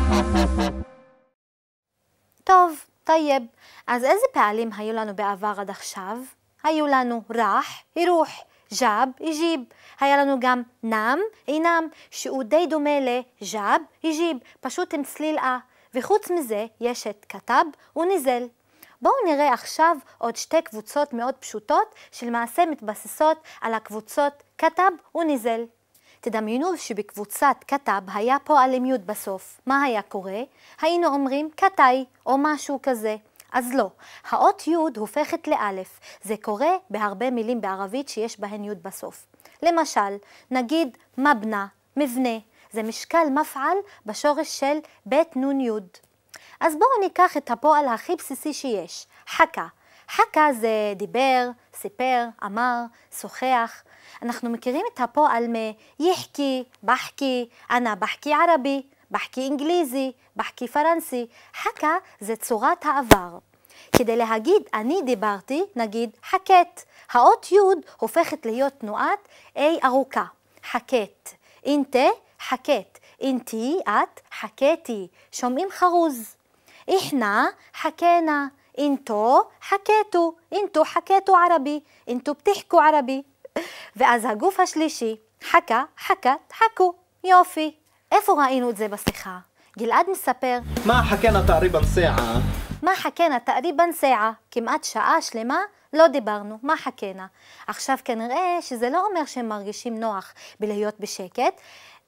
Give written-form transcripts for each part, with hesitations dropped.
טוב, טייב. אז איזה פעלים היו לנו בעבר עד עכשיו? היו לנו רח, ירוח, ג'אב, יג'יב. היה לנו גם נם, אינם, שהוא די דומה לג'אב, יג'יב, פשוט עם צליל אה. וחוץ מזה יש את כתב וניזל. בואו נראה עכשיו עוד שתי קבוצות מאוד פשוטות שלמעשה מתבססות על הקבוצות כתב וניזל. תדמיינו שבקבוצת כתב היה פועל עם יוד בסוף. מה היה קורה? היינו אומרים כתאי או משהו כזה. אז לא, האות יוד הופכת לאלף. זה קורה בהרבה מילים בערבית שיש בהן יוד בסוף. למשל, נגיד מבנה, מבנה. זה משקל מפעל בשורש של בית נון יוד. אז בואו ניקח את הפועל הכי בסיסי שיש, חכה. חכה זה דיבר, סיפר, אמר, שוחח. אנחנו מכירים את הפועל מיחקי, בחקי, אנה בחקי ערבי, בחקי אנגליזי, בחקי פרנסי. חכה זה צורת העבר. כדי להגיד אני דיברתי, נגיד חכת. האות יוד הופכת להיות תנועת A ארוכה. חכת. אינתה, חכת. אינתי, את, חכתי. שומעים חרוז. איחנה, חכנה. אינתו, חכתו. אינתו חכתו ערבי. אינתו בתחכו ערבי. ואז הגוף השלישי, חכה, חכת, חכו. יופי. איפה ראינו את זה בשיחה? גלעד מספר, מה חכינה תקריבן סעה? מה חכינה תקריבן סעה? כמעט שעה שלמה לא דיברנו. מה חכינה? עכשיו כנראה שזה לא אומר שהם מרגישים נוח בלהיות בשקט,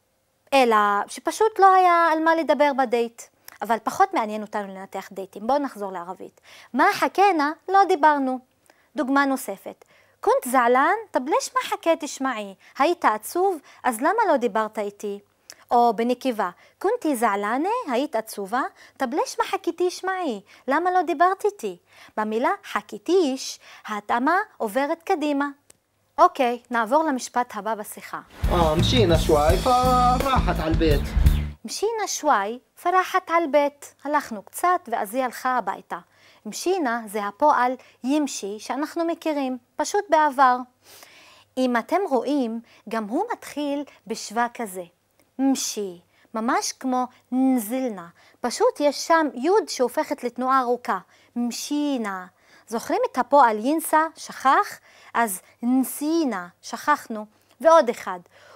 אלא שפשוט לא היה על מה לדבר בדייט. אבל פחות מעניין אותנו לנתח דייטים. בואו נחזור לערבית. מה חכינה? לא דיברנו. דוגמה נוספת. كنت زعلان, طب ليش ما حكيتش معي? היית עצוב, אז למה לא דיברת איתי? או בנקבה, كنتي زعلانة, היית עצובה, طب ليش ما حكيتيش معي? למה לא דיברת איתי? במילה חכיתיש, ההתאמה עוברת קדימה. אוקיי, נעבור למשפט הבא בשיחה. مشينا شوي فراحت على البيت. مشينا شوي فراحت على البيت. הלכנו קצת ואז היא הלכה הביתה. משינה זה הפועל ימשי שאנחנו מכירים, פשוט בעבר. אם אתם רואים, גם הוא מתחיל בשווה כזה. משי, ממש כמו נזלנה. פשוט יש שם יוד שהופכת לתנועה ארוכה. משינה. זוכרים את הפועל ינסה, שכח? אז נסינה, שכחנו. ועוד אחד.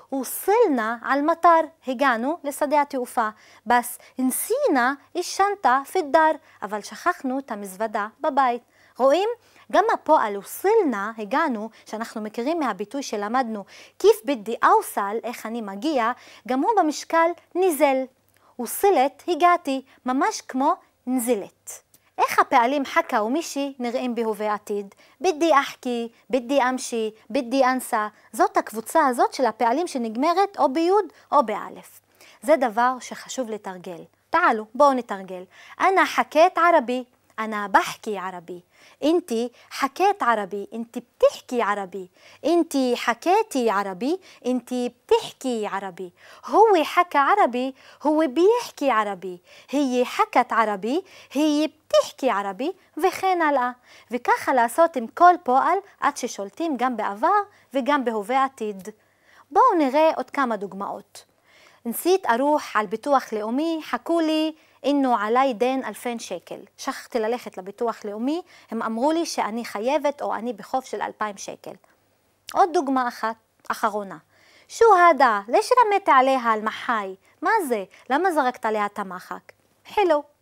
وصلنا على المطار, הגענו לשדה התעופה. בס נסינה ישנתה في الدار, אבל שכחנו את המזוודה בבית. רואים? גם הפועל וصلنا, הגענו, שאנחנו מכירים מהביטוי שלמדנו, כיף בדי אוסל, איך אני מגיע, גם הוא במשקל נזל. וصلت, הגעתי, ממש כמו נזלת. איך הפעלים חכה ומישי נראים בהווה עתיד? בדי אחכי, בדי אמשי, בדי אנסה. זאת הקבוצה הזאת של הפעלים שנגמרת או ביוד או באלף. זה דבר שחשוב לתרגל. תעלו, בואו נתרגל. אנה חכית ערבי, אנה בחכי ערבי. انتي حكيت عربي, انتي بتحكي عربي. انتي حكيتي عربي, انتي بتحكي عربي. هو حكى عربي, هو بيحكي عربي. هي حكت عربي, هي بتحكي عربي, וכן הלאה. וככה לעשות עם כל פועל עד ששולטים גם בעבר וגם בהווה עתיד. בואו נראה עוד כמה דוגמאות. נسيت أروح على ביטוח לאומי, חכו לי إنه علي دين 2,000 שקל. שכחתי ללכת לביטוח לאומי, הם אמרו לי שאני חייבת או אני בחוב של 2,000 שקל. עוד דוגמה אחת, אחרונה. שו הדה, לש רמית עליה על מחי? מה זה? למה זרקת עליה את המחק? חילו.